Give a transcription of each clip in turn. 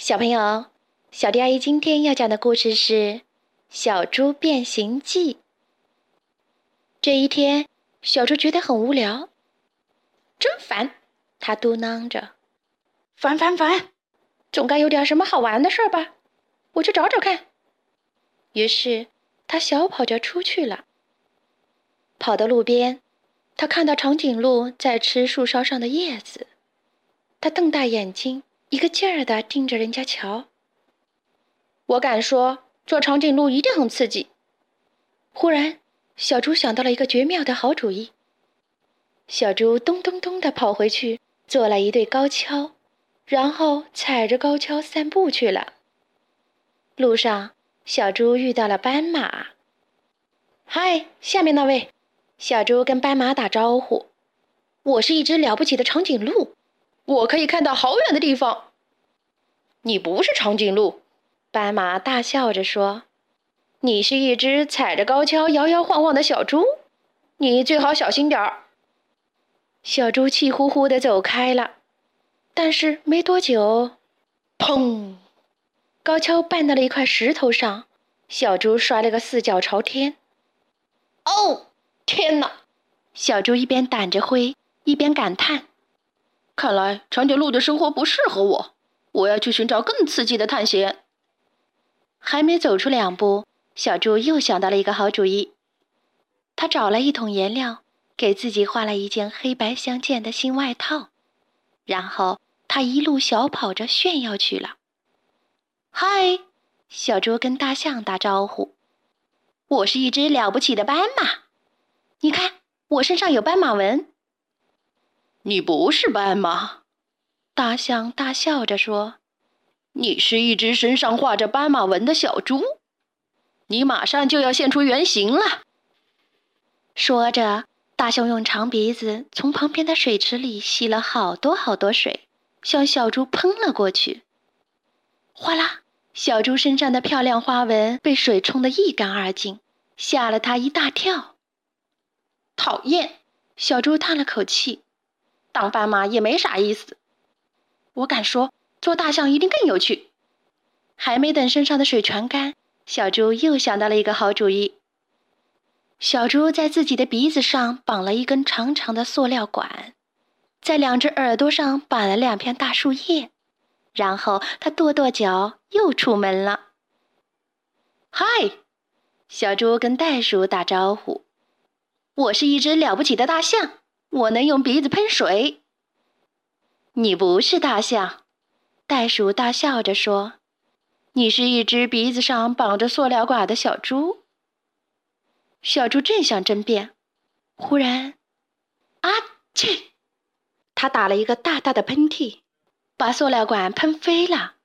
小朋友，小迪阿姨今天要讲的故事是《小猪变形记》。这一天，小猪觉得很无聊，真烦，他嘟囔着：“烦，总该有点什么好玩的事儿吧？我去找找看。”于是，他小跑着出去了。跑到路边，他看到长颈鹿在吃树梢上的叶子，他瞪大眼睛，一个劲儿地盯着人家瞧。我敢说，做长颈鹿一定很刺激。忽然，小猪想到了一个绝妙的好主意。小猪咚咚咚地跑回去，做了一对高跷，然后踩着高跷散步去了。路上，小猪遇到了斑马。嗨，下面那位！小猪跟斑马打招呼。我是一只了不起的长颈鹿，我可以看到好远的地方。你不是长颈鹿，斑马大笑着说，你是一只踩着高跷摇摇晃晃的小猪，你最好小心点儿。小猪气呼呼地走开了，但是没多久，砰！高跷绊到了一块石头上，小猪摔了个四脚朝天。哦，天哪！小猪一边掸着灰，一边感叹，看来长颈鹿的生活不适合我，我要去寻找更刺激的探险。还没走出2步，小猪又想到了一个好主意。他找了一桶颜料，给自己画了一件黑白相间的新外套，然后他一路小跑着炫耀去了。嗨，小猪跟大象打招呼，我是一只了不起的斑马，你看我身上有斑马纹。你不是斑马，大象大笑着说，你是一只身上画着斑马纹的小猪，你马上就要现出原形了。说着，大象用长鼻子从旁边的水池里吸了好多好多水，向小猪喷了过去。哗啦，小猪身上的漂亮花纹被水冲得一干二净，吓了它一大跳。讨厌，小猪叹了口气，当斑马也没啥意思。我敢说，做大象一定更有趣。还没等身上的水全干，小猪又想到了一个好主意。小猪在自己的鼻子上绑了一根长长的塑料管，在2只耳朵上绑了2片大树叶，然后他跺跺脚又出门了。嗨，小猪跟袋鼠打招呼，我是一只了不起的大象，我能用鼻子喷水。你不是大象，袋鼠大笑着说，你是一只鼻子上绑着塑料管的小猪。小猪正想争辩，忽然，啊切！他打了一个大大的喷嚏，把塑料管喷飞了。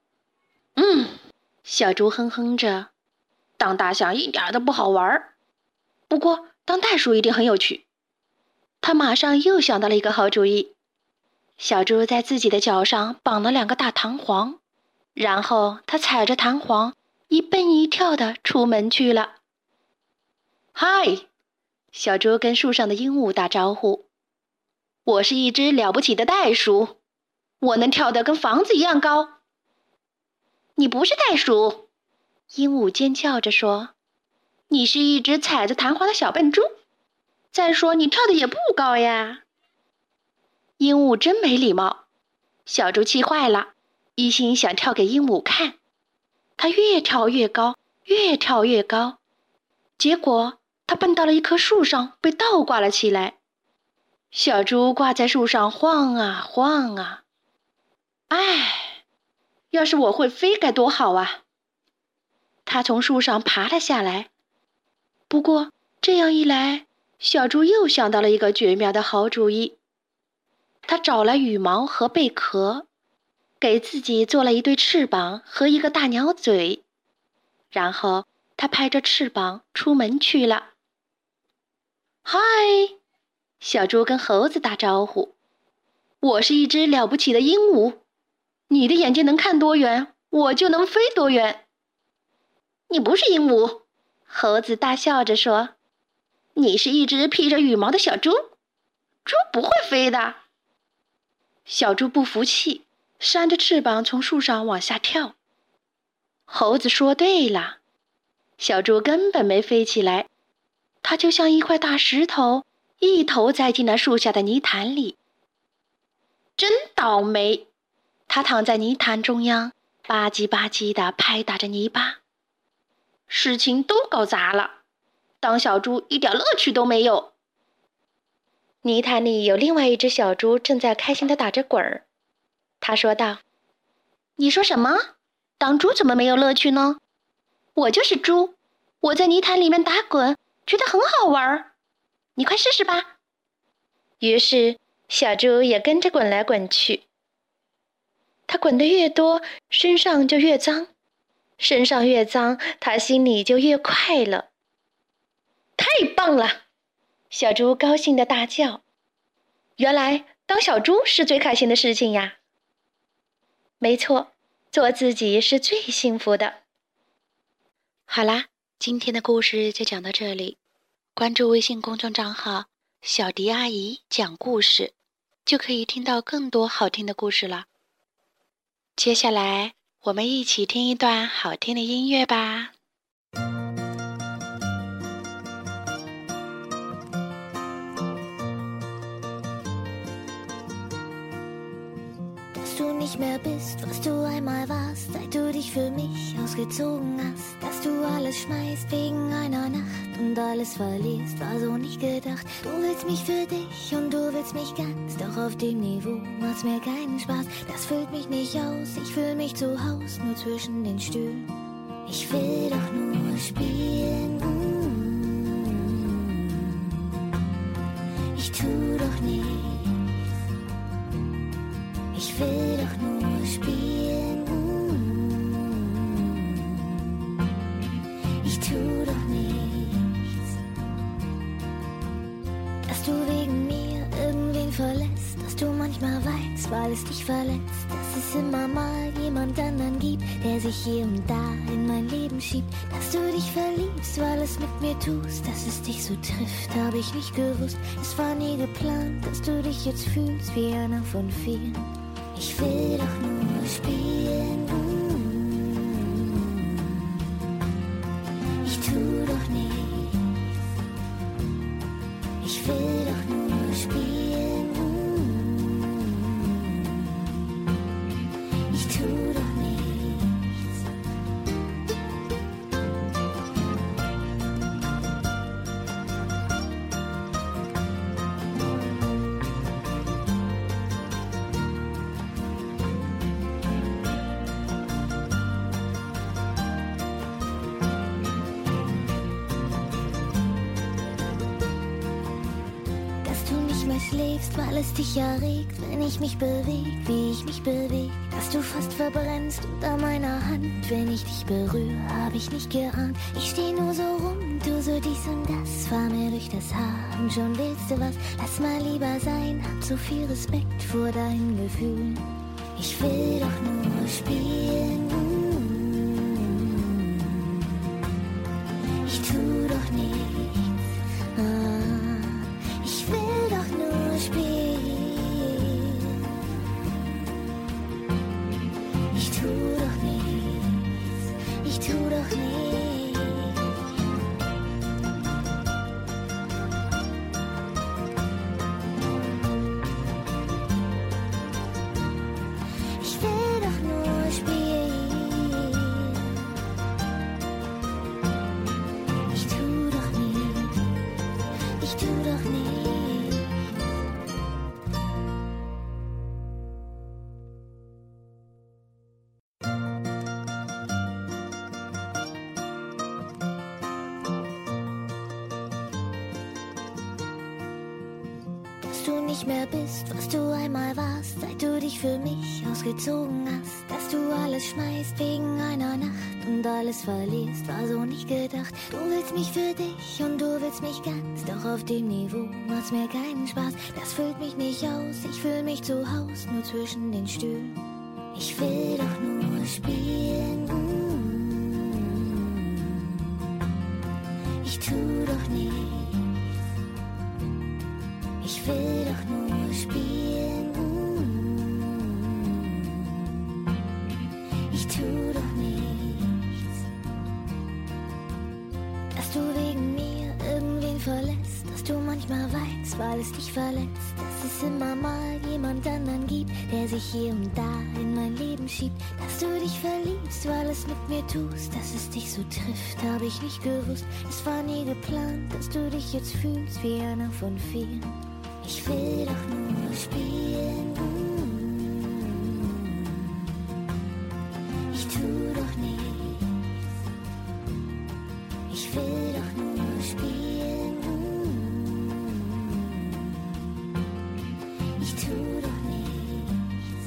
小猪哼哼着，当大象一点都不好玩，不过当袋鼠一定很有趣。他马上又想到了一个好主意。小猪在自己的脚上绑了2个大弹簧，然后他踩着弹簧一蹦一跳地出门去了。嗨，小猪跟树上的鹦鹉打招呼，我是一只了不起的袋鼠，我能跳得跟房子一样高。你不是袋鼠，鹦鹉尖叫着说，你是一只踩着弹簧的小笨猪，再说你跳得也不高呀。鹦鹉真没礼貌，小猪气坏了，一心想跳给鹦鹉看。它越跳越高，越跳越高，结果它蹦到了一棵树上，被倒挂了起来。小猪挂在树上晃啊晃啊，唉，要是我会飞该多好啊！它从树上爬了下来。不过这样一来，小猪又想到了一个绝妙的好主意。他找了羽毛和贝壳，给自己做了一对翅膀和一个大鸟嘴，然后他拍着翅膀出门去了。嗨，小猪跟猴子打招呼，我是一只了不起的鹦鹉，你的眼睛能看多远，我就能飞多远。你不是鹦鹉，猴子大笑着说，你是一只披着羽毛的小猪，猪不会飞的。小猪不服气， 扇着翅膀从树上往下跳。猴子说对了，小猪根本没飞起来，它就像一块大石头，一头栽进了树下的泥潭里。真倒霉！它躺在泥潭中央，吧唧吧唧地拍打着泥巴。事情都搞砸了，当小猪一点乐趣都没有。泥潭里有另外一只小猪正在开心地打着滚儿。他说道：“你说什么？当猪怎么没有乐趣呢？我就是猪，我在泥潭里面打滚，觉得很好玩。你快试试吧。”于是，小猪也跟着滚来滚去。它滚得越多，身上就越脏，身上越脏，它心里就越快乐。太棒了！小猪高兴地大叫。原来当小猪是最开心的事情呀。没错，做自己是最幸福的。好啦，今天的故事就讲到这里。关注微信公众账号小迪阿姨讲故事，就可以听到更多好听的故事了。接下来我们一起听一段好听的音乐吧。 Du nicht mehr bist, was du einmal warst, seit du dich für mich ausgezogen hast, dass du alles schmeißt wegen einer Nacht und alles verlierst, war so nicht gedacht. Du willst mich für dich und du willst mich ganz, doch auf dem Niveau macht's mir keinen Spaß. Das füllt mich nicht aus, ich fühl mich zu Haus, nur zwischen den Stühlen. Ich will doch nur spielen. Ich tu doch nichts. Ich will doch nur spielen. Ich tu doch nichts. Dass du wegen mir irgendwen verlässt, dass du manchmal weinst, weil es dich verletzt, dass es immer mal jemand anderen gibt, der sich hier und da in mein Leben schiebt. Dass du dich verliebst, weil es mit mir tust, dass es dich so trifft, hab ich nicht gewusst. Es war nie geplant, dass du dich jetzt fühlst wie einer von vielen. Ich will doch nur spielen. Ich tu doch nichts. Ich will doch nur spielen. Ich tu doch nichts. Schläfst, weil es dich erregt, wenn ich mich beweg, wie ich mich beweg. Dass du fast verbrennst unter meiner Hand, wenn ich dich berühre, hab ich nicht geahnt. Ich steh nur so rum, du so dies und das, fahr mir durch das Haar und schon willst du was. Lass mal lieber sein, hab so viel Respekt vor deinen Gefühlen. Ich will doch nur spielen. Ich tu doch nichts. Ich will doch nur spielen. Ich tu doch nichts. Ich tu doch nichts. Ich will doch nur spielen. Ich tu doch nichts. Ich tu doch nichts. Dass du nicht mehr bist, was du einmal warst, seit du dich für mich ausgezogen hast. Dass du alles schmeißt wegen einer Nacht und alles verlierst, war so nicht gedacht. Du willst mich für dich und du willst mich ganz, doch auf dem Niveau macht's mir keinen Spaß. Das füllt mich nicht aus, ich fühl mich zu Haus, nur zwischen den Stühlen. Ich will doch nur spielen. Ich tu doch nichts. Ich will doch nur spielen. Ich tu doch nichts, dass du wegen mir irgendwen verlässt, dass du manchmal weinst, weil es dich verletzt, dass es immer mal jemand anderen gibt, der sich hier und da in mein Leben schiebt, dass du dich verliebst, weil es mit mir tust, dass es dich so trifft, habe ich nicht gewusst, es war nie geplant, dass du dich jetzt fühlst wie einer von vielen. Ich will doch nur spielen, ich tu doch nichts, ich will doch nur spielen, ich tu doch nichts.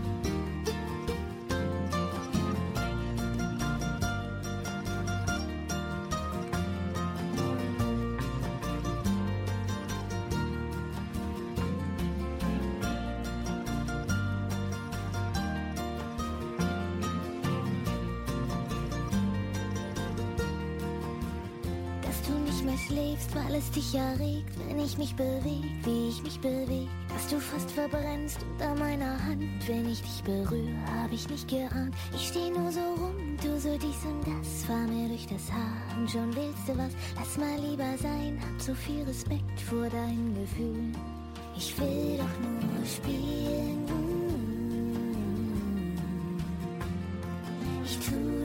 Dass du nicht mehr schläfst, weil es dich erregt, wenn ich mich beweg, wie ich mich beweg. Dass du fast verbrennst unter meiner Hand, wenn ich dich berühre, hab ich nicht geahnt. Ich steh nur so rum, du so dies und das, fahr mir durch das Haar und schon willst du was. Lass mal lieber sein, hab so viel Respekt vor deinen Gefühlen. Ich will doch nur spielen, ich tu